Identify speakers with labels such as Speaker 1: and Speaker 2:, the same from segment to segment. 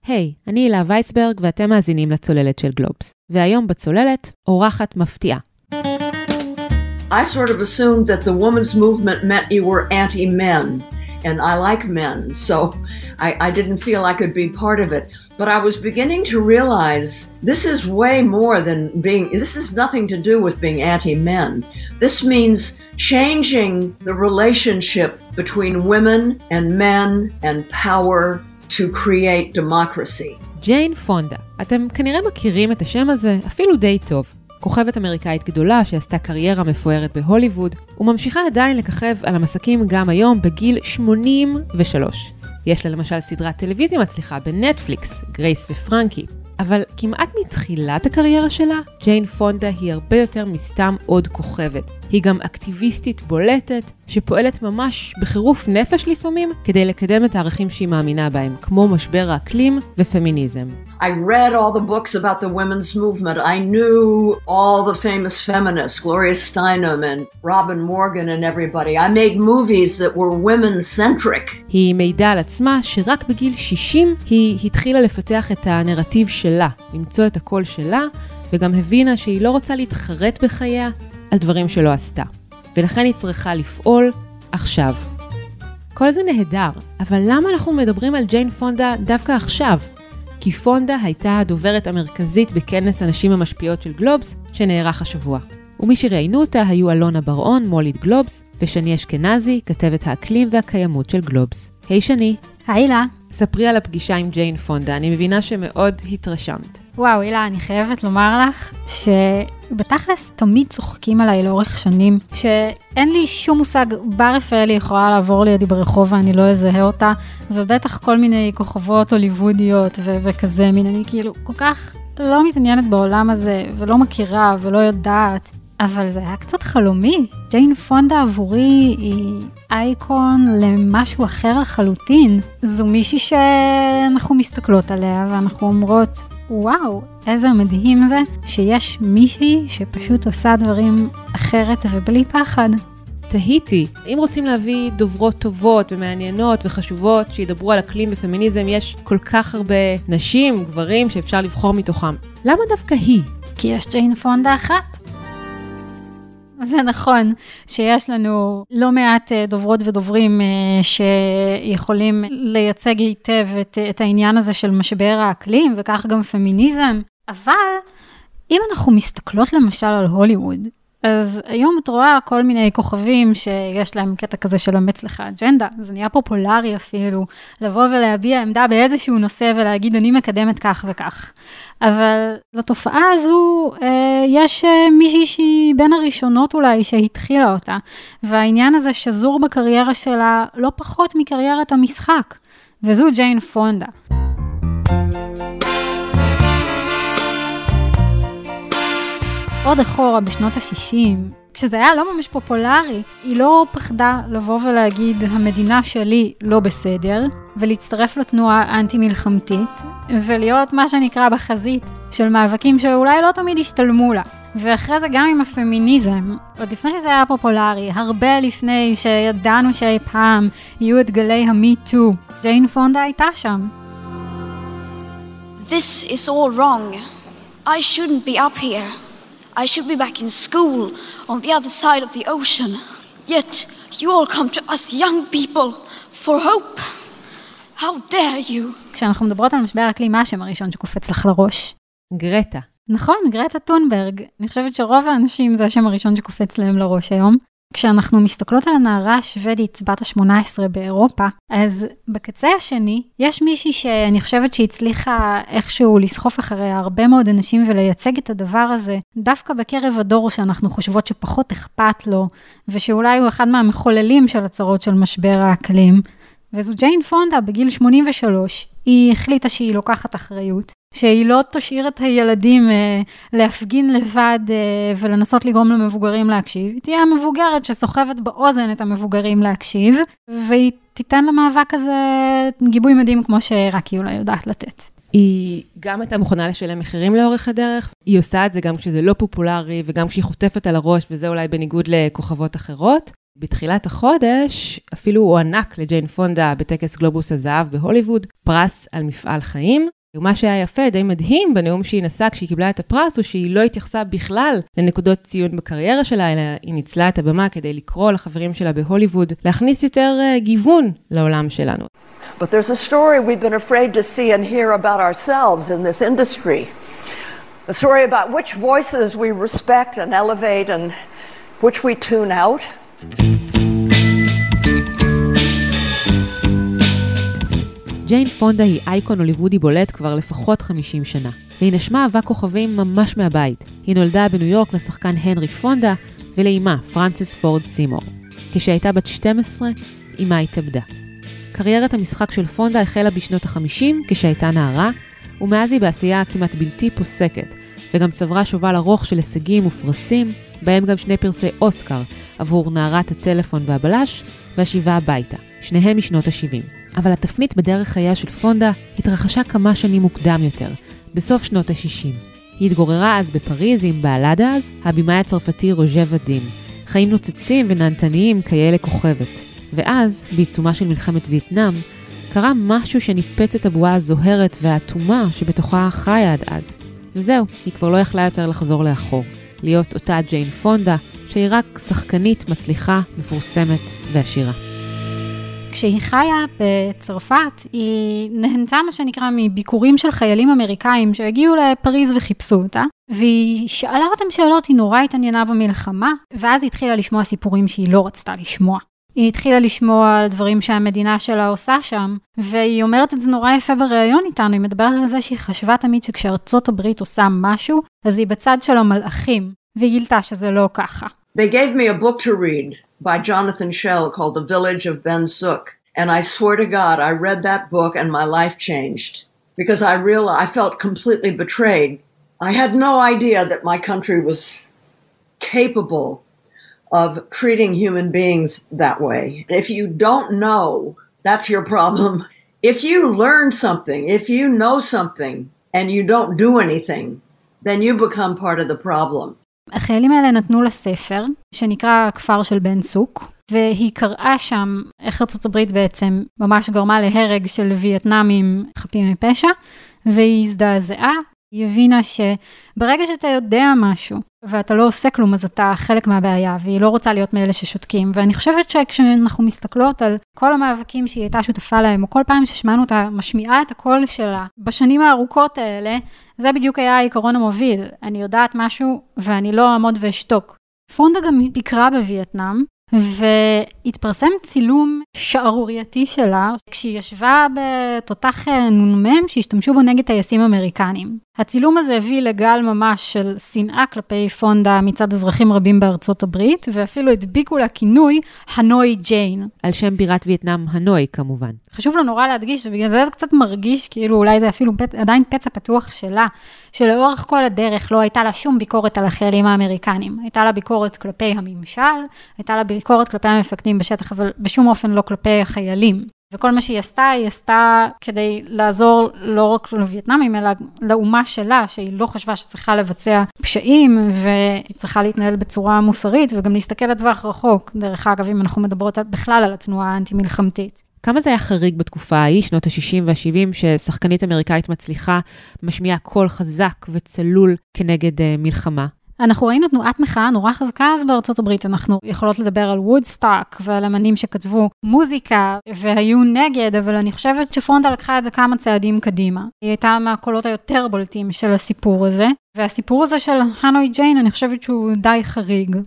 Speaker 1: היי, אני הילה וייסברג ואתם מאזינים לצוללת של גלובס. והיום בצוללת, אורחת מפתיעה.
Speaker 2: I sort of assumed that the women's movement meant you were anti-men, and I like men, so I didn't feel I could be part of it. But I was beginning to realize this is way more than this is nothing to do with being anti-men. This means changing the relationship between women and men and power to create democracy.
Speaker 1: ג'יין פונדה. אתם כנראה מכירים את השם הזה אפילו די טוב. כוכבת אמריקאית גדולה שעשתה קריירה מפוארת בהוליווד, וממשיכה עדיין לככב על המסכים גם היום בגיל 83. יש לה למשל סדרת טלוויזיה מצליחה בנטפליקס, גרייס ופרנקי. אבל כמעט מתחילת הקריירה שלה, ג'יין פונדה היא הרבה יותר מסתם עוד כוכבת. היא גם אקטיביסטית בולטת, שפועלת ממש בחירוף נפש לפעמים, כדי לקדם את הערכים שהיא מאמינה בהם, כמו משבר האקלים ופמיניזם.
Speaker 2: I read all the books about the women's movement. I knew all the famous feminists, Gloria Steinem and Robin Morgan and everybody. I made movies that were women-centric.
Speaker 1: היא מעידה על עצמה שרק בגיל 60 היא התחילה לפתח את הנרטיב שלה, למצוא את הקול שלה, וגם הבינה שהיא לא רוצה להתחרט בחייה על דברים שלא עשתה. ולכן היא צריכה לפעול עכשיו. כל זה נהדר, אבל למה אנחנו מדברים על ג'יין פונדה דווקא עכשיו? כי פונדה הייתה הדוברת המרכזית בכנס הנשים המשפיעות של גלובס שנערך השבוע. ומי שראיינו אותה היו אלונה בר-און, מוליד גלובס, ושני אשכנזי, כתבת האקלים והקיימות של גלובס. היי שני.
Speaker 3: היי לה.
Speaker 1: ספרי על הפגישה עם ג'יין פונדה, אני מבינה שמאוד התרשמת.
Speaker 3: וואו, הילה, אני חייבת לומר לך שבתכלס תמיד צוחקים עליי לאורך שנים, שאין לי שום מושג, בר רפאלי יכולה לעבור לידי ברחוב ואני לא אזהה אותה, ובטח כל מיני כוכבות הוליוודיות וכזה מין, אני כאילו כל כך לא מתעניינת בעולם הזה, ולא מכירה ולא יודעת, אבל זה היה קצת חלומי. ג'יין פונדה עבורי היא אייקון למשהו אחר לחלוטין. זו מישהי שאנחנו מסתכלות עליה ואנחנו אומרות, וואו, איזה מדהים זה שיש מישהי שפשוט עושה דברים אחרת ובלי פחד.
Speaker 1: תהיתי, אם רוצים להביא דוברות טובות ומעניינות וחשובות שידברו על אקלים ופמיניזם, יש כל כך הרבה נשים, גברים שאפשר לבחור מתוכם. למה דווקא היא?
Speaker 3: כי יש ג'יין פונדה אחת. זה נכון שיש לנו לא מעט דוברות ודוברים שיכולים לייצג היטב את העניין הזה של משבר האקלים וכך גם פמיניזם, אבל אם אנחנו מסתכלות למשל על הוליווד, אז היום את רואה כל מיני כוכבים שיש להם קטע כזה של אמץ לך אג'נדה, זה נהיה פופולרי אפילו, לבוא ולהביע עמדה באיזשהו נושא ולהגיד אני מקדמת כך וכך. אבל לתופעה הזו יש מישהי שהיא בין הראשונות אולי שהתחילה אותה, והעניין הזה שזור בקריירה שלה לא פחות מקריירת המשחק, וזו ג'יין פונדה. עוד אחורה בשנות ה-60, כשזה היה לא ממש פופולרי, היא לא פחדה לבוא ולהגיד המדינה שלי לא בסדר, ולהצטרף לתנועה האנטי-מלחמתית, ולהיות מה שנקרא בחזית של מאבקים שאולי לא תמיד השתלמו לה. ואחרי זה גם עם הפמיניזם, עוד לפני שזה היה פופולרי, הרבה לפני שידענו שאי פעם יהיו את גלי המי-טו, ג'יין פונדה הייתה שם.
Speaker 4: This is all wrong. I shouldn't be up here. I should be back in school on the other side of the ocean. Yet you all come to us young people for hope. How dare you?
Speaker 3: כשאנחנו מדברות על משבר האקלים, מה השם הראשון שקופץ לך לראש?
Speaker 1: גרטה.
Speaker 3: נכון, גרטה טונברג. אני חושבת שרוב האנשים זה השם הראשון שקופץ להם לראש היום. כשאנחנו מסתכלות על הנערה השוודית בת ה-18 באירופה, אז בקצה השני יש מישהי שאני חושבת שהצליחה איכשהו לסחוף אחרי הרבה מאוד אנשים ולייצג את הדבר הזה, דווקא בקרב הדור שאנחנו חושבות שפחות אכפת לו, ושאולי הוא אחד מהמחוללים של הצרות של משבר האקלים, וזו ג'יין פונדה בגיל 83, היא החליטה שהיא לוקחת אחריות, שהיא לא תשאיר את הילדים להפגין לבד ולנסות לגרום למבוגרים להקשיב, היא תהיה המבוגרת שסוחבת באוזן את המבוגרים להקשיב, והיא תיתן למאבק הזה גיבוי מדהים כמו שרק היא אולי יודעת לתת.
Speaker 1: היא גם הייתה מוכנה לשלם מחירים לאורך הדרך, היא עושה את זה גם כשזה לא פופולרי וגם כשהיא חוטפת על הראש, וזה אולי בניגוד לכוכבות אחרות, בתחילת החודש אפילו הוענק לג'יין פונדה בטקס גלובוס הזהב בהוליווד, פרס על מפעל חיים. ומה שהיה יפה, די מדהים בנאום שהיא נשאה כשהיא קיבלה את הפרס, הוא שהיא לא התייחסה בכלל לנקודות ציון בקריירה שלה, אלא היא ניצלה את הבמה כדי לקרוא לחברים שלה בהוליווד, להכניס יותר גיוון לעולם שלנו.
Speaker 5: But there's a story we've been afraid to see and hear about ourselves in this industry. A story about which voices we respect and elevate and which we tune out.
Speaker 1: ג'יין פונדה היא אייקון הוליוודי בולט כבר לפחות 50 שנה, והיא נשמה אהבה כוכבים ממש מהבית. היא נולדה בניו יורק לשחקן הנרי פונדה ולאימה פרנסיס פורד סימור. כשהייתה בת 12, אימה התאבדה. קריירת המשחק של פונדה החלה בשנות ה-50 כשהייתה נערה, ומאז היא בעשייה כמעט בלתי פוסקת, וגם צברה שובל ארוך של הישגים ופרסים, בהם גם 2 פרסי אוסקר עבור נערת הטלפון והבלש, והשיבה הביתה, שניהם משנות ה-70. אבל התפנית בדרך חייה של פונדה התרחשה כמה שנים מוקדם יותר, בסוף שנות ה-60. היא התגוררה אז בפריז עם בעלה דאז, הבימאי הצרפתי רוז'ה ואדים, חיים נוצצים ונענתניים כאלה כוכבת. ואז, בעיצומה של מלחמת וייטנאם, קרה משהו שניפץ את הבועה הזוהרת והאטומה שבתוכה חיה עד אז. וזהו, היא כבר לא יכלה יותר לחזור לאחור, להיות אותה ג'יין פונדה, שהיא רק שחקנית מצליחה, מפורסמת ועשירה.
Speaker 3: כשהיא חיה בצרפת, היא נהנתה מה שנקרא מביקורים של חיילים אמריקאים שהגיעו לפריז וחיפשו אותה, והיא שאלה אותם שאלות, היא נורא התעניינה במלחמה, ואז היא התחילה לשמוע סיפורים שהיא לא רצתה לשמוע. היא התחילה לשמוע על דברים שהמדינה שלה עושה שם, והיא אומרת את זה נורא יפה בריאיון איתנו, היא מדברת על זה שהיא חשבה תמיד שכשארצות הברית עושה משהו, אז היא בצד של המלאכים, והיא גילתה שזה לא ככה.
Speaker 2: They gave me a book to read by Jonathan Schell called The Village of Ben Suk. And I swear to God, I read that book and my life changed. Because I felt completely betrayed. I had no idea that my country was capable of treating human beings that way. If you don't know, that's your problem. If you learn something, if you know something, and you don't do anything, then you become part of the problem.
Speaker 3: החיילים האלה נתנו לספר, שנקרא כפר של בן סוק, והיא קראה שם איך ארצות הברית בעצם ממש גרמה להרג של וייטנאמים חפים מפשע, והיא הזדעזעה, היא הבינה שברגע שאתה יודע משהו, ואתה לא עושה כלום, אז אתה חלק מהבעיה, והיא לא רוצה להיות מאלה ששותקים, ואני חושבת שכשאנחנו מסתכלות על כל המאבקים שהיא הייתה שותפה להם, או כל פעם ששמענו אותה משמיעה את הקול שלה, בשנים הארוכות האלה, זה בדיוק היה העיקרון המוביל. אני יודעת משהו, ואני לא אעמוד ואשתוק. פונדה גם ביקרה בווייטנאם, והתפרסם צילום שערורייתי שלה, כשהיא ישבה בתותח נ"מ שהשתמשו בו נגד טייסים אמריקנים. הצילום הזה הביא לגל ממש של שנאה כלפי פונדה מצד אזרחים רבים בארצות הברית, ואפילו הדביקו לה כינוי הנוי ג'יין.
Speaker 1: על שם בירת וייטנאם הנוי כמובן.
Speaker 3: חשוב לו נורא להדגיש, ובגלל זה קצת מרגיש כאילו אולי זה אפילו עדיין פצע פתוח שלה, שלאורך כל הדרך לא הייתה לה שום ביקורת על החיילים האמריקנים. הייתה לה ביקורת כלפי הממשל, הייתה לה ביקורת כלפי המפקדים בשטח, אבל בשום אופן לא כלפי החיילים. וכל מה שהיא עשתה כדי לעזור לא רק לווייטנאמים, אלא לאומה שלה, שהיא לא חשבה שצריכה לבצע פשעים, והיא צריכה להתנהל בצורה מוסרית, וגם להסתכל לטווח רחוק. דרך אגב, אם אנחנו מדברות בכלל על התנועה האנטי-מלחמתית.
Speaker 1: כמה זה היה חריג בתקופה ההיא, שנות ה-60 וה-70, ששחקנית אמריקאית מצליחה, משמיעה קול חזק וצלול כנגד מלחמה?
Speaker 3: אנחנו ראינו תנועת מחאה נורא חזקה אז בארצות הברית, אנחנו יכולות לדבר על וודסטוק ועל אמנים שכתבו מוזיקה והיו נגד, אבל אני חושבת שפונדה לקחה את זה כמה צעדים קדימה. היא הייתה מהקולות היותר בולטים של הסיפור הזה, והסיפור הזה של הנוי ג'יין אני חושבת שהוא די חריג.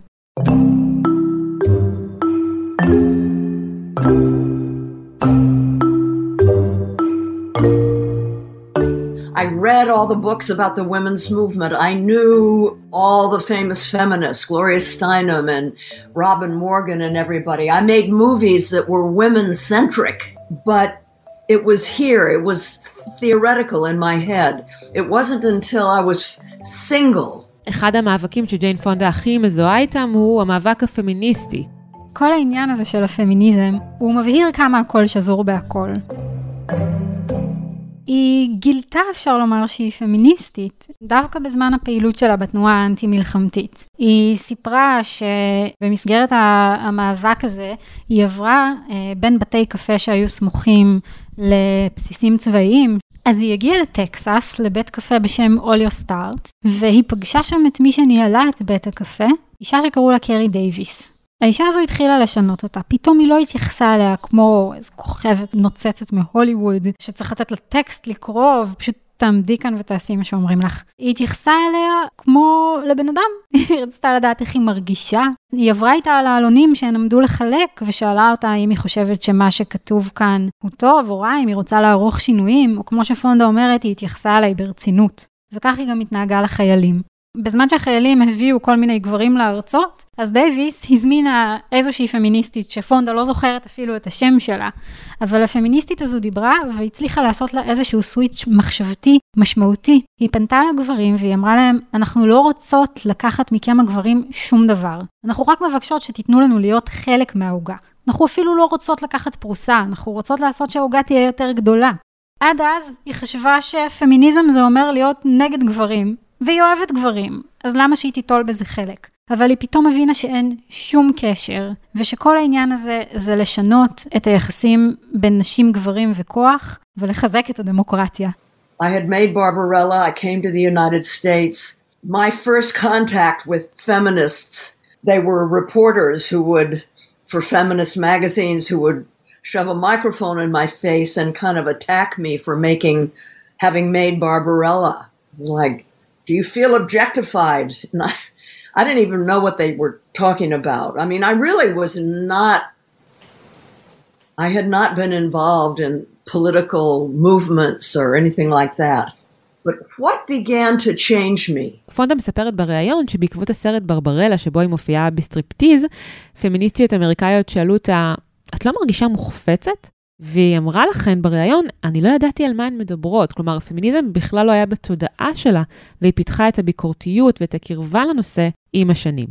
Speaker 2: I read all the books about the women's movement. I knew all the famous feminists, Gloria Steinem and Robin Morgan and everybody. I made movies that were women-centric, but it was here. It was theoretical in my head. It wasn't until I was single.
Speaker 1: אחד המאבקים שג'יין פונדה הכי מזוהה איתם הוא המאבק הפמיניסטי.
Speaker 3: כל העניין הזה של הפמיניזם, הוא מבהיר כמה הכל שזור בהכל. היא גילתה, אפשר לומר, שהיא פמיניסטית, דווקא בזמן הפעילות שלה בתנועה האנטי-מלחמתית. היא סיפרה שבמסגרת המאבק הזה, היא עברה בין בתי קפה שהיו סמוכים לבסיסים צבאיים, אז היא הגיעה לטקסס, לבית קפה בשם אוליו סטארט, והיא פגשה שם את מי שניהלה את בית הקפה, אישה שקראו לה קרי דייביס. האישה הזו התחילה לשנות אותה, פתאום היא לא התייחסה עליה כמו איזו כוכבת נוצצת מהוליווד, שצריך לתת לה טקסט לקרוא, ופשוט תעמדי כאן ותעשי מה שאומרים לך. היא התייחסה אליה כמו לבן אדם, היא רצתה לדעת איך היא מרגישה. היא עברה איתה על העלונים שהן עמדו לחלק, ושאלה אותה אם היא חושבת שמה שכתוב כאן הוא טוב או רע, אם היא רוצה לערוך שינויים, או כמו שפונדה אומרת, היא התייחסה עליי ברצינות. וכך היא גם התנהגה לחיילים. בזמן שהחיילים הביאו כל מיני גברים לארצות, אז דייביס הזמינה איזושהי פמיניסטית שפונדה לא זוכרת אפילו את השם שלה, אבל הפמיניסטית הזו דיברה והצליחה לעשות לה איזשהו סוויץ' מחשבתי משמעותי. היא פנתה לגברים והיא אמרה להם, אנחנו לא רוצות לקחת מכם הגברים שום דבר. אנחנו רק מבקשות שתיתנו לנו להיות חלק מהעוגה. אנחנו אפילו לא רוצות לקחת פרוסה, אנחנו רוצות לעשות שהעוגה תהיה יותר גדולה. עד אז היא חשבה שפמיניזם זה אומר להיות נגד גברים. והיא אוהבת גברים, אז למה שהיא תיטול בזה חלק? אבל היא פתאום הבינה שאין שום קשר, ושכל העניין הזה זה לשנות את היחסים בין נשים, גברים וכוח, ולחזק את הדמוקרטיה.
Speaker 2: I had made Barbarella, I came to the United States. My first contact with feminists, they were reporters who would, for feminist magazines, who would shove a microphone in my face and kind of attack me for having made Barbarella. It was like, do you feel objectified? And I didn't even know what they were talking about. I mean, I really was not, I had not been involved in political movements or anything like that. But what began to change me?
Speaker 1: פונדה מספרת בריאיון שבעקבות הסרט ברברלה שבו היא מופיעה בסטריפטיז, פמיניסטיות אמריקאיות שאלו אותה, את לא מרגישה מוחפצת? והיא אמרה לכן בריאיון, אני לא ידעתי על מה הן מדברות, כלומר, הפמיניזם בכלל לא היה בתודעה שלה, והיא פיתחה את הביקורתיות ואת הקרבה לנושא עם השנים.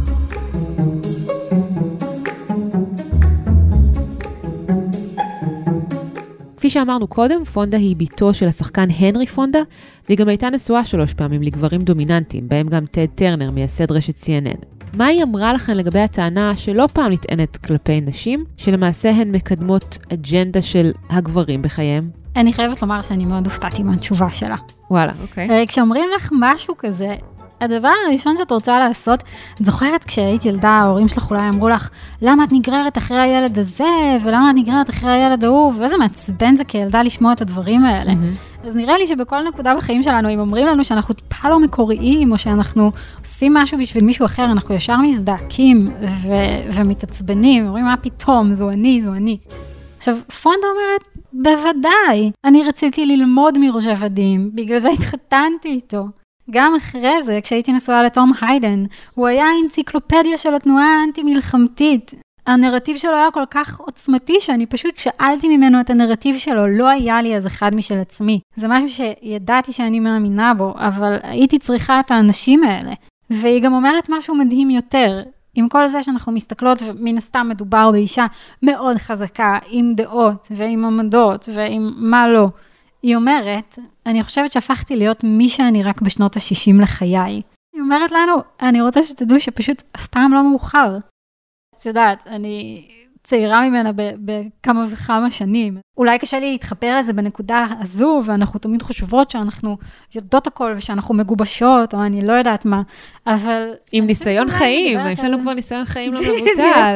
Speaker 1: כפי שאמרנו קודם, פונדה היא ביתו של השחקן הנרי פונדה, והיא גם הייתה נשואה 3 פעמים לגברים דומיננטיים, בהם גם טד טרנר, מייסד רשת CNN. מה היא אמרה לכן לגבי הטענה שלא פעם נטענת כלפי נשים, שלמעשה הן מקדמות אג'נדה של הגברים בחייהם?
Speaker 3: אני חייבת לומר שאני מאוד הופתעתי מהתשובה שלה.
Speaker 1: וואלה, אוקיי.
Speaker 3: כשאומרים לך משהו כזה, הדבר הראשון שאת רוצה לעשות, את זוכרת כשהיית ילדה, ההורים שלך אולי אמרו לך, למה את נגררת אחרי הילד הזה, ולמה את נגררת אחרי הילד ההוא, ואיזה מעצבן זה כילדה לשמוע את הדברים האלה. אז נראה לי שבכל נקודה בחיים שלנו, אם אומרים לנו שאנחנו טיפה לא מקוריים, או שאנחנו עושים משהו בשביל מישהו אחר, אנחנו ישר מזדעקים ומתעצבנים, אומרים, מה פתאום, זו אני. עכשיו, פונדה אומרת, בוודאי, אני רציתי ללמוד מראש עבדים, בגלל זה התחתנתי איתו. גם אחרי זה, כשהייתי נשואה לתום היידן, הוא היה אנציקלופדיה של התנועה האנטי-מלחמתית. הנרטיב שלו היה כל כך עוצמתי, שאני פשוט שאלתי ממנו את הנרטיב שלו, לא היה לי אז אחד משל עצמי. זה משהו שידעתי שאני מאמינה בו, אבל הייתי צריכה את האנשים האלה. והיא גם אומרת משהו מדהים יותר. עם כל זה שאנחנו מסתכלות, ומן הסתם מדובר באישה מאוד חזקה, עם דעות ועם עמדות ועם מה לא. היא אומרת, אני חושבת שהפכתי להיות מי שאני רק בשנות ה-60 לחיי. היא אומרת לנו, אני רוצה שתדעו שפשוט אף פעם לא מאוחר. את יודעת, אני צעירה ממנה בכמה וכמה שנים. אולי קשה לי להתחבר לזה בנקודה הזו, ואנחנו תמיד חושבות שאנחנו יודעות הכל, ושאנחנו מגובשות, או אני לא יודעת מה, אבל... עם
Speaker 1: ניסיון חיים, יש לנו כבר ניסיון חיים לא מבוטל.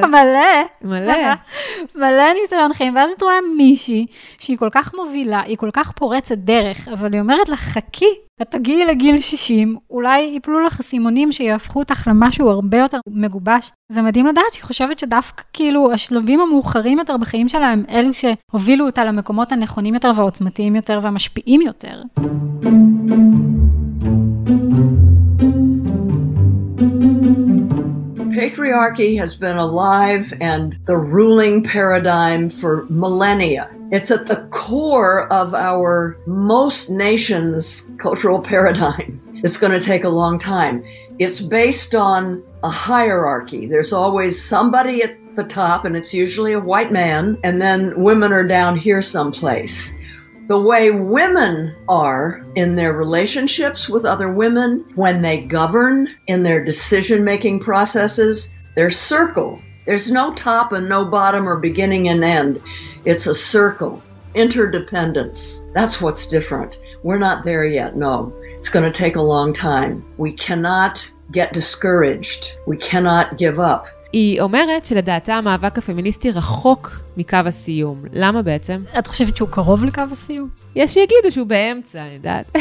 Speaker 3: מלא ניסיון חיים, ואז את רואה מישהי, שהיא כל כך מובילה, היא כל כך פורצת דרך, אבל היא אומרת לה, חכי, את תגיעי לגיל 60, אולי ייפלו לך סימונים שיהפכו אותך למשהו הרבה יותר מגובש. זה מדהים לדעת, שהיא חושבת שדווקא כאילו השלבים המאוחרים יותר בחיים שלה הם אלו שהובילו אותה למקומות הנכונים יותר והעוצמתיים יותר והמשפיעים יותר.
Speaker 2: Patriarchy has been alive and the ruling paradigm for millennia. It's at the core of our most nations' cultural paradigm. It's going to take a long time. It's based on a hierarchy. There's always somebody at the top, and it's usually a white man, and then women are down here someplace. the way women are in their relationships with other women, when they govern in their decision-making processes, their circle. There's no top and no bottom or beginning and end. It's a circle. Interdependence. That's what's different. We're not there yet, no. It's going to take a long time. We cannot get discouraged. We cannot give up.
Speaker 1: היא אומרת שלדעתה המאבק הפמיניסטי רחוק מקו הסיום. למה בעצם?
Speaker 3: את חושבת שהוא קרוב לקו הסיום?
Speaker 1: יש שיגידו שהוא באמצע, אני יודעת.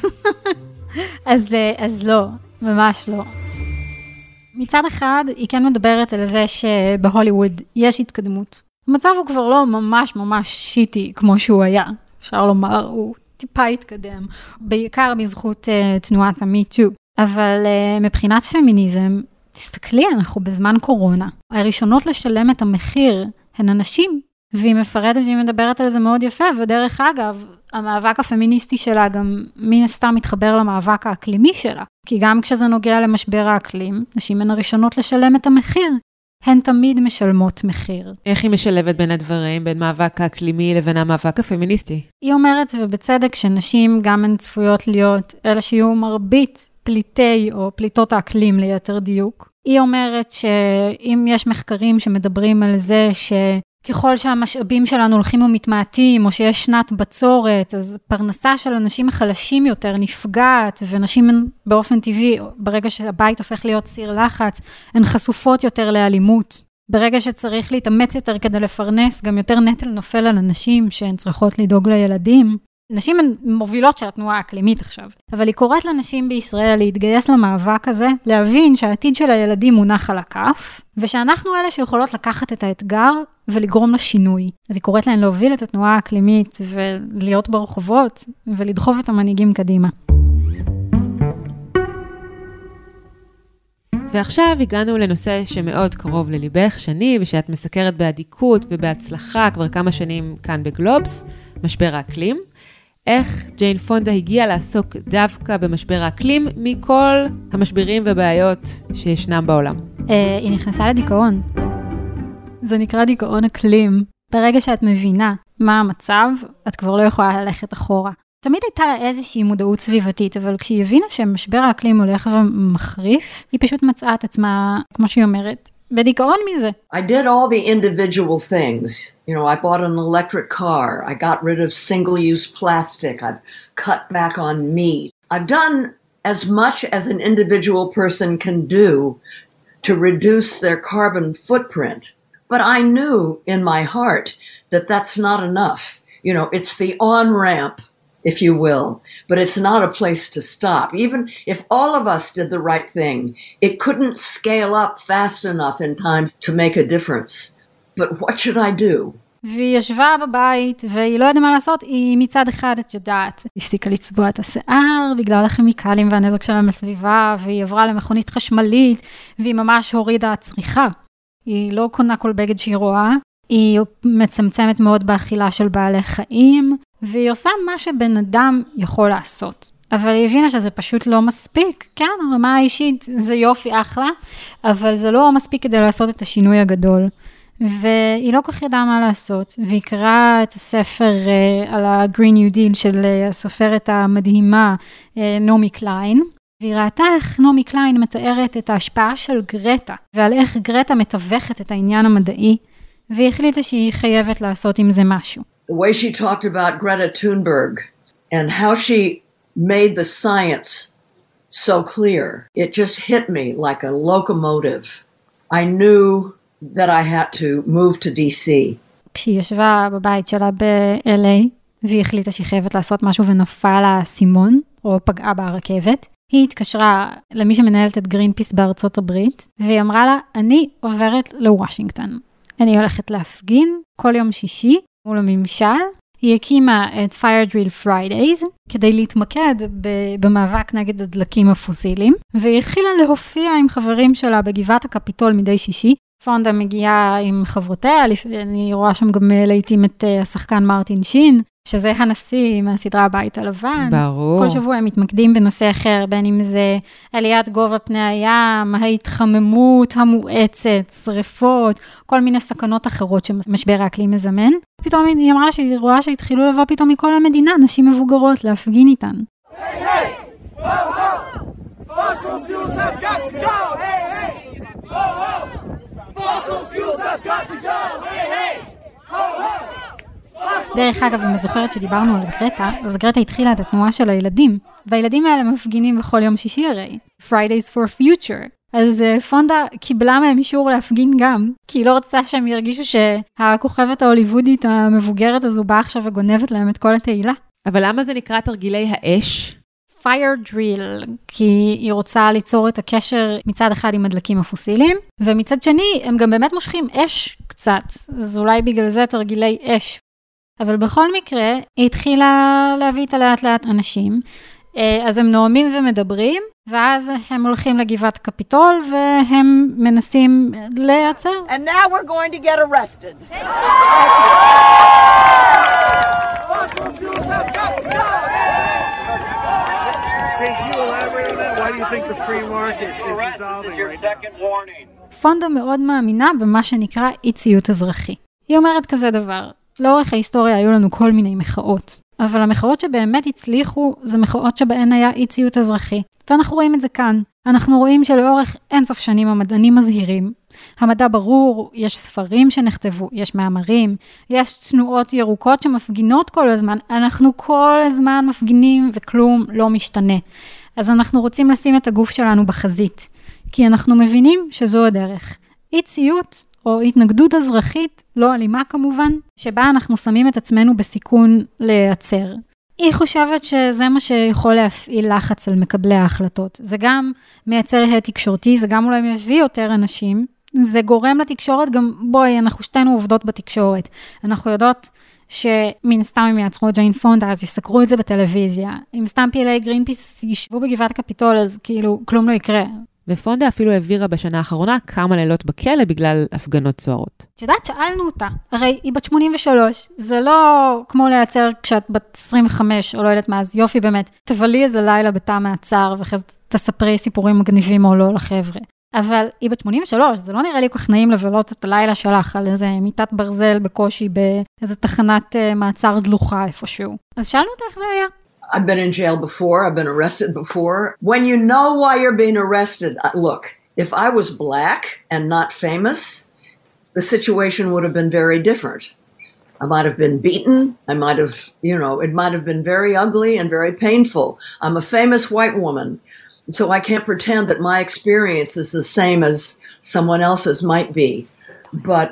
Speaker 3: אז לא, ממש לא. מצד אחד, היא כן מדברת על זה שבהוליווד יש התקדמות. המצב הוא כבר לא ממש ממש שיטי כמו שהוא היה. אפשר לומר, הוא טיפה התקדם, בעיקר בזכות תנועת ה-Me Too. אבל מבחינת פמיניזם, תסתכלי, אנחנו בזמן קורונה. הראשונות לשלם את המחיר הן הנשים, והיא מפרטת והיא מדברת על זה מאוד יפה, ודרך אגב, המאבק הפמיניסטי שלה גם מן הסתם מתחבר למאבק האקלימי שלה, כי גם כשזה נוגע למשבר האקלים, נשים הן הראשונות לשלם את המחיר. הן תמיד משלמות מחיר.
Speaker 1: איך היא משלבת בין הדברים, בין מאבק האקלימי לבין המאבק הפמיניסטי?
Speaker 3: היא אומרת, ובצדק, שנשים גם הן צפויות להיות אלה שיהיו מרבית פליטי או פליטות האקלים ליתר דיוק. היא אומרת שאם יש מחקרים שמדברים על זה שככל שהמשאבים שלנו הולכים ומתמעטים, או שיש שנת בצורת, אז פרנסה של אנשים החלשים יותר נפגעת, ונשים באופן טבעי, ברגע שהבית הופך להיות סיר לחץ, הן חשופות יותר לאלימות. ברגע שצריך להתאמץ יותר כדי לפרנס, גם יותר נטל נופל על אנשים שהן צריכות לדאוג לילדים. נשים הן מובילות של התנועה האקלימית עכשיו, אבל היא קוראת לנשים בישראל להתגייס למאבק הזה, להבין שהעתיד של הילדים מונח על הכף, ושאנחנו אלה שיכולות לקחת את האתגר ולגרום לשינוי. אז היא קוראת להן להוביל את התנועה האקלימית ולהיות ברחובות ולדחוף את המנהיגים קדימה.
Speaker 1: ועכשיו הגענו לנושא שמאוד קרוב לליבך, שני, ושאת מסקרת באדיקות ובהצלחה כבר כמה שנים כאן בגלובס, משבר האקלים. איך ג'יין פונדה הגיעה לעסוק דווקא במשבר האקלים מכל המשברים ובעיות שישנם בעולם?
Speaker 3: היא נכנסה לדיכאון. זה נקרא דיכאון אקלים. ברגע שאת מבינה מה המצב, את כבר לא יכולה ללכת אחורה. תמיד הייתה לה איזושהי מודעות סביבתית, אבל כשהיא הבינה שמשבר האקלים הולך ומחריף, היא פשוט מצאה את עצמה, כמו שהיא אומרת, בדיכאון מזה.
Speaker 2: I did all the individual things. You know, I bought an electric car. I got rid of single-use plastic. I've cut back on meat. I've done as much as an individual person can do to reduce their carbon footprint. But I knew in my heart that that's not enough. You know, it's the on-ramp, if you will, but it's not a place to stop. Even if all of us did the right thing, it couldn't scale up fast enough in time to make a difference. But what should I do?
Speaker 3: והיא ישבה בבית, והיא לא יודעת מה לעשות, היא מצד אחד, את יודעת, הפסיקה לצבוע את השיער, בגלל הכימיקלים והנזק שלהם לסביבה, והיא עברה למכונית חשמלית, והיא ממש הורידה צריכה. היא לא קונה כל בגד שהיא רואה, היא מצמצמת מאוד באכילה של בעלי חיים, והיא עושה מה שבן אדם יכול לעשות. אבל היא הבינה שזה פשוט לא מספיק. כן, הרמה האישית זה יופי אחלה, אבל זה לא מספיק כדי לעשות את השינוי הגדול. והיא לא כך ידעה מה לעשות, והיא קראה את הספר על ה-Green New Deal של הסופרת המדהימה נעמי קליין, והיא ראתה איך נעמי קליין מתארת את ההשפעה של גרטה, ועל איך גרטה מתווכת את העניין המדעי, והיא החליטה שהיא חייבת לעשות עם זה משהו.
Speaker 2: The way she talked about Greta Thunberg and how she made the science so clear, it just hit me like a locomotive. I knew that I had to move to DC.
Speaker 3: כשהיא ישבה בבית שלה ב-LA, והיא החליטה שהיא חייבת לעשות משהו ונפל האסימון, או פגעה ברכבת, היא התקשרה למי שמנהלת את גרינפיס בארצות הברית, והיא אמרה לה, אני עוברת לוושינגטון. אני הולכת להפגין כל יום שישי מול הממשל. היא הקימה את Fire Drill Fridays כדי להתמקד במאבק נגד הדלקים הפוסיליים, והיא התחילה להופיע עם חברים שלה בגבעת הקפיטול מדי שישי. פונדה מגיעה עם חברותיה, אני רואה שם גם לעתים את השחקן מרטין שין, שזה הנשיא מהסדרה הבית הלבן.
Speaker 1: ברור.
Speaker 3: כל שבוע הם מתמקדים בנושא אחר, בין אם זה עליית גובה פני הים, ההתחממות המואצת, שריפות, כל מיני סכנות אחרות שמשבר האקלים מזמן. פתאום היא אמרה שהיא רואה שהתחילו לבוא פתאום מכל המדינה, נשים מבוגרות להפגין איתן. היי, היי! הו, הו! Fossil fuels have got to go! Hey, hey! Ho, ho! Fossil fuels have got to go! Hey, hey! Ho, ho! דרך אגב, אם את זוכרת שדיברנו על גרטה, אז גרטה התחילה את התנועה של הילדים, והילדים האלה מפגינים בכל יום שישי הרי. Fridays for Future. אז פונדה קיבלה מהם אישור להפגין גם, כי היא לא רצתה שהם ירגישו שהכוכבת ההוליוודית המבוגרת הזו באה עכשיו וגונבת להם את כל התהילה.
Speaker 1: אבל למה זה נקרא תרגילי האש?
Speaker 3: fire drill, כי היא רוצה ליצור את הקשר מצד אחד עם הדלקים הפוסיליים, ומצד שני הם גם באמת מושכים אש קצת, אז אולי בגלל זה תרגילי אש. אבל בכל מקרה, היא התחילה להביא את לאט לאט אנשים, אז הם נואמים ומדברים, ואז הם הולכים לגבעת קפיטול, והם מנסים להיעצר.
Speaker 6: And now we're going to get arrested. Fossil fuels have got to go! Why do you think the free market is dissolving right now?
Speaker 3: פונדה מאוד מאמינה במה שנקרא אי ציות אזרחי. היא אומרת כזה דבר, לאורך ההיסטוריה היו לנו כל מיני מחאות, אבל המחאות שבאמת הצליחו זה מחאות שבהן היה אי ציות אזרחי. ואנחנו רואים את זה כאן. אנחנו רואים שלאורך אינסוף שנים המדענים מזהירים. המדע ברור, יש ספרים שנכתבו, יש מאמרים, יש תנועות ירוקות שמפגינות כל הזמן. אנחנו כל הזמן מפגינים וכלום לא משתנה. אז אנחנו רוצים לשים את הגוף שלנו בחזית, כי אנחנו מבינים שזו הדרך. אי ציות או התנגדות אזרחית, לא אלימה כמובן, שבה אנחנו שמים את עצמנו בסיכון להיעצר. היא חושבת שזה מה שיכול להפעיל לחץ על מקבלי ההחלטות. זה גם מייצר הד תקשורתי, זה גם אולי מביא יותר אנשים, זה גורם לתקשורת גם, בואי, אנחנו שתינו עובדות בתקשורת. אנחנו יודעות שמן סתם הם יעצרו את ג'יין פונדה, אז יסקרו את זה בטלוויזיה. אם סתם פעילי גרינפיס ישבו בגבעת הקפיטול, אז כאילו כלום לא יקרה.
Speaker 1: ופונדה אפילו העבירה בשנה האחרונה כמה לילות בכלא בגלל הפגנות סוערות.
Speaker 3: את יודעת, שאלנו אותה, הרי היא בת 83, זה לא כמו לייצר כשאת בת 25, או לא יודעת מה, אז יופי באמת, תבלי איזה לילה בתא מעצר, ואחרי זה תספרי סיפורים מגניבים או לא לחבר'ה. אבל היא בת 83, זה לא נראה לי כל כך נעים לבלות את הלילה שלך על איזה מיטת ברזל בקושי, באיזה תחנת מעצר דלוחה איפשהו. אז שאלנו אותה איך זה היה.
Speaker 2: I've been in jail before. I've been arrested before. When you know why you're being arrested, look, if I was black and not famous, the situation would have been very different. I might have been beaten. I might have, it might have been very ugly and very painful. I'm a famous white woman, so I can't pretend that my experience is the same as someone else's might be. But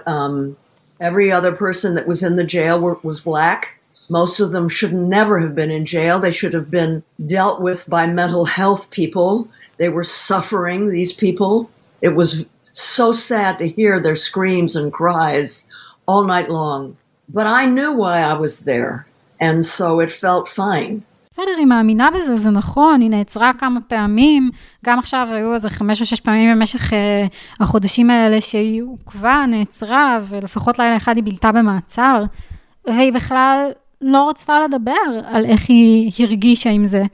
Speaker 2: every other person that was in the jail was black. Most of them should never have been in jail. They should have been dealt with by mental health people. They were suffering, these people. It was so sad to hear their screams and cries all night long. But I knew why I was there, and so it felt fine.
Speaker 3: בסדר, היא מאמינה בזה, זה נכון, היא נעצרה כמה פעמים, גם עכשיו היו איזה 5 או 6 פעמים במשך החודשים האלה שהיא עוקבה, נעצרה, ולפחות לילה אחד היא בילתה במעצר, והיא בכלל לא רצתה לדבר על איך היא הרגישה עם זה.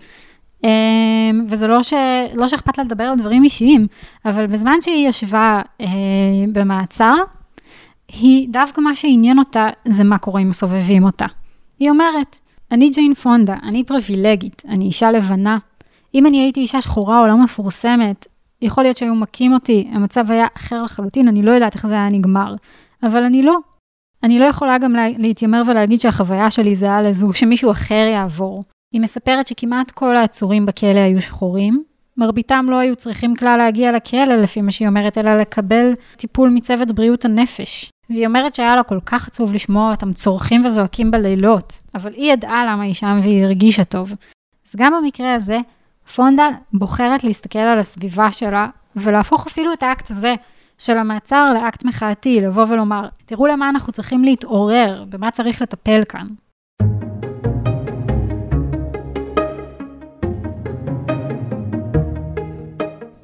Speaker 3: וזה לא שאכפת לה לדבר על דברים אישיים, אבל בזמן שהיא ישבה במעצר, היא דווקא מה שעניין אותה זה מה קורה אם מסובבים אותה. היא אומרת, אני ג'יין פונדה, אני פריבילגית, אני אישה לבנה. אם אני הייתי אישה שחורה או לא מפורסמת, יכול להיות שהיו מכים אותי, המצב היה אחר לחלוטין, אני לא יודעת איך זה היה נגמר. אבל אני לא. אני לא יכולה גם להתיימר ולהגיד שהחוויה שלי זה היה לזו שמישהו אחר יעבור. היא מספרת שכמעט כל העצורים בכלא היו שחורים. מרביתם לא היו צריכים כלל להגיע לכלא, לפי מה שהיא אומרת, אלא לקבל טיפול מצוות בריאות הנפש. והיא אומרת שהיה לה כל כך עצוב לשמוע אותם צורכים וזועקים בלילות, אבל היא ידעה למה היא שם והיא הרגישה טוב. אז גם במקרה הזה, פונדה בוחרת להסתכל על הסביבה שלה, ולהפוך אפילו את האקט הזה של המעצר לאקט מחאתי, לבוא ולומר, תראו למה אנחנו צריכים להתעורר, במה צריך לטפל כאן.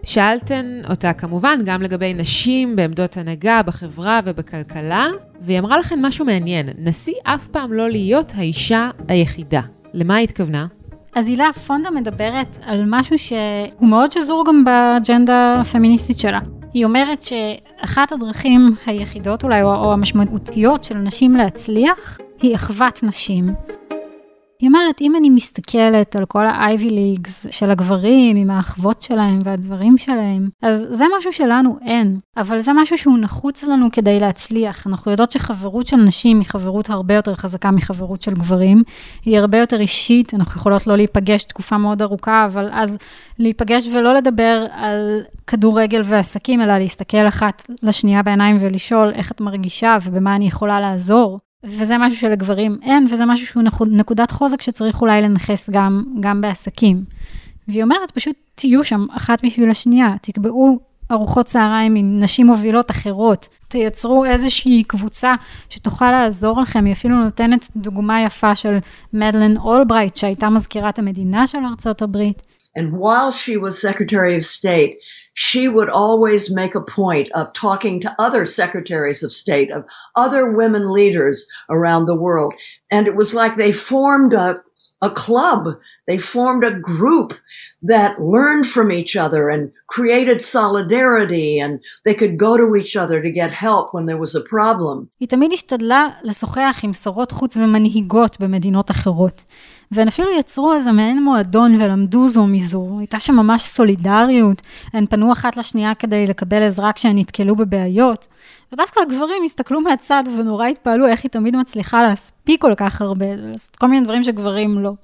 Speaker 1: שאלתן אותה כמובן גם לגבי נשים בעמדות הנהגה בחברה ובכלכלה, והיא אמרה לכם משהו מעניין, נשיא אף פעם לא להיות האישה היחידה. למה היא התכוונה?
Speaker 3: אז הילה, פונדה מדברת על משהו שהוא מאוד שזור גם באג'נדה הפמיניסטית שלה. היא אומרת שאחת הדרכים היחידות אולי, או המשמעותיות של נשים להצליח, היא אחוות נשים. היא אומרת, אם אני מסתכלת על כל ה-Ivy Leagues של הגברים, עם האחוות שלהם והדברים שלהם, אז זה משהו שלנו אין, אבל זה משהו שהוא נחוץ לנו כדי להצליח. אנחנו יודעות שחברות של נשים היא חברות הרבה יותר חזקה מחברות של גברים, היא הרבה יותר אישית, אנחנו יכולות לא להיפגש תקופה מאוד ארוכה, אבל אז להיפגש ולא לדבר על כדורגל ועסקים, אלא להסתכל אחת לשנייה בעיניים ולשאול איך את מרגישה ובמה אני יכולה לעזור. וזה משהו שלגברים אין, וזה משהו שהוא נקודת חוזק שצריך אולי לנחס גם בעסקים. והיא אומרת, פשוט תהיו שם אחת בשביל השנייה, תקבעו ארוחות צהריים עם נשים מובילות אחרות, תייצרו איזושהי קבוצה שתוכל לעזור לכם, היא אפילו נותנת דוגמה יפה של מדלן אולברייט, שהייתה מזכירת המדינה של ארצות הברית.
Speaker 2: And while she was Secretary of State, she would always make a point of talking to other secretaries of state, of other women leaders around the world. And it was like they formed a club, they formed a group that learned from each other and created solidarity, and they could go to each other to get help when there was a problem.
Speaker 3: היא תמיד השתדלה לשוחח עם שרות חוץ ומנהיגות במדינות אחרות. והן אפילו יצרו איזה מעין מועדון ולמדו זו מזו. הייתה שם ממש סולידריות, הן פנו אחת לשנייה כדי לקבל עזרה כשהן נתקלו בבעיות. ודווקא הגברים הסתכלו מהצד ונורא התפעלו איך היא תמיד מצליחה להספיק כל כך הרבה, לעשות כל מיני דברים שגברים לא.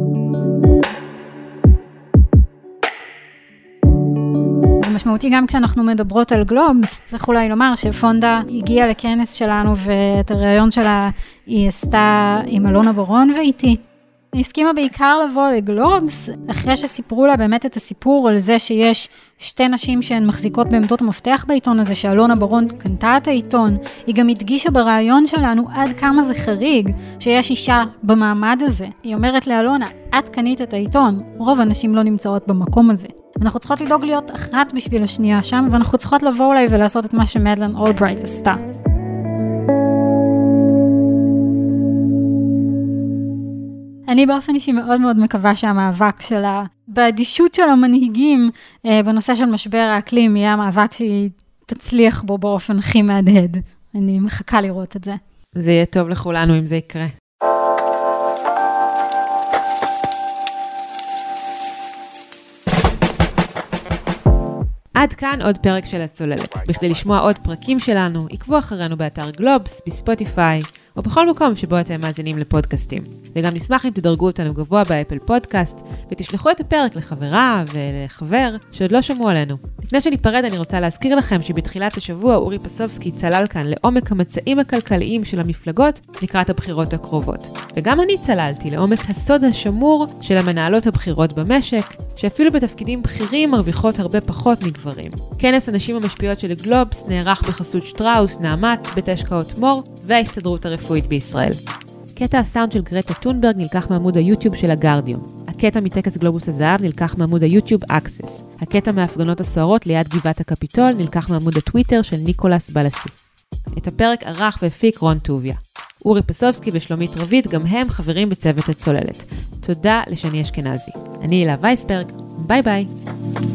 Speaker 3: זה משמעותי גם כשאנחנו מדברות על גלובס, צריך אולי לומר שפונדה הגיעה לכנס שלנו ואת הרעיון שלה היא עשתה עם אלונה ברון ואיתי. היא הסכימה בעיקר לבוא לגלובס, אחרי שסיפרו לה באמת את הסיפור על זה שיש שתי נשים שהן מחזיקות בעמדות המפתח בעיתון הזה, שאלונה ברון קנתה את העיתון. היא גם הדגישה ברעיון שלנו עד כמה זה חריג שיש אישה במעמד הזה. היא אומרת לאלונה, את קנית את העיתון, רוב הנשים לא נמצאות במקום הזה. אנחנו צריכות לדאוג להיות אחת בשביל השנייה שם, ואנחנו צריכות לבוא אולי ולעשות את מה שמדלן אולברייט עשתה. אני באופן אישי מאוד מאוד מקווה שהמאבק שלה, באדישות של המנהיגים בנושא של משבר האקלים, יהיה המאבק שהיא תצליח בו באופן הכי מהדהד. אני מחכה לראות את זה.
Speaker 1: זה יהיה טוב לכולנו אם זה יקרה. עד כאן עוד פרק של הצוללת. בכדי לשמוע עוד פרקים שלנו, עקבו אחרינו באתר גלובס, בספוטיפיי, או בכל מקום שבו אתם מאזינים לפודקאסטים. וגם נשמח אם תדרגו אותנו גבוה באפל פודקאסט, ותשלחו את הפרק לחברה ולחבר שעוד לא שמעו עלינו. לפני שניפרד אני רוצה להזכיר לכם שבתחילת השבוע אורי פסובסקי צלל כאן לעומק המצעים הכלכליים של המפלגות לקראת הבחירות הקרובות. וגם אני צללתי לעומק הסוד השמור של המנהלות הבחירות במשק, שאפילו בתפקידים בכירים מרוויחות הרבה פחות מגברים. כנס הנשים המשפיעות של גלובס נערך בחסות שטראוס, נעמת, בית השקעות מור וההסתדרות הרפואית בישראל. קטע הסאונד של גרטה טונברג נלקח מעמוד היוטיוב של הגרדיום. הקטע מטקס גלובוס הזהב נלקח מעמוד היוטיוב אקסס. הקטע מההפגנות הסוערות ליד גבעת הקפיטול נלקח מעמוד הטוויטר של ניקולס בלסי. את הפרק ערך והפיק רון טוביה. אורי פסובסקי ושלומית רבית גם הם חברים בצוות הצוללת. תודה לשני אשכנזי. אני הילה וייסברג, ביי ביי.